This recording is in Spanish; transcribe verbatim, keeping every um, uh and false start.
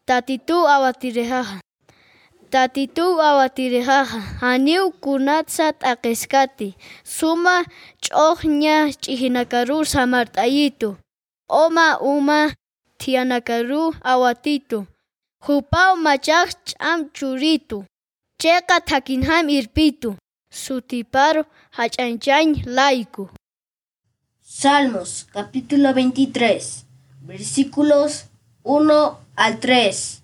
Tatitu awatirejaja. Tatitu awatirejaja. Haniu kunatsat akeskati. Suma ch'ohña ch'ihinakaru samart'ayitu. Oma uma tianakaru awatitu. Jupao machak ch'am churitu. Cheka thakinham irpitu. Sutiparo hach'anchañ laiku. Salmos capítulo veintitrés, versículos uno al tres.